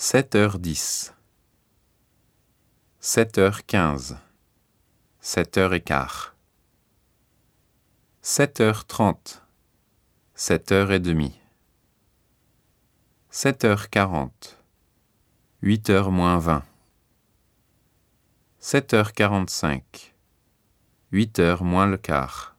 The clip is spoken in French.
7h10, 7h15, 7h15, 7h30, 7h30, 7h40, 8h moins 20, 7h45, 8h moins le quart.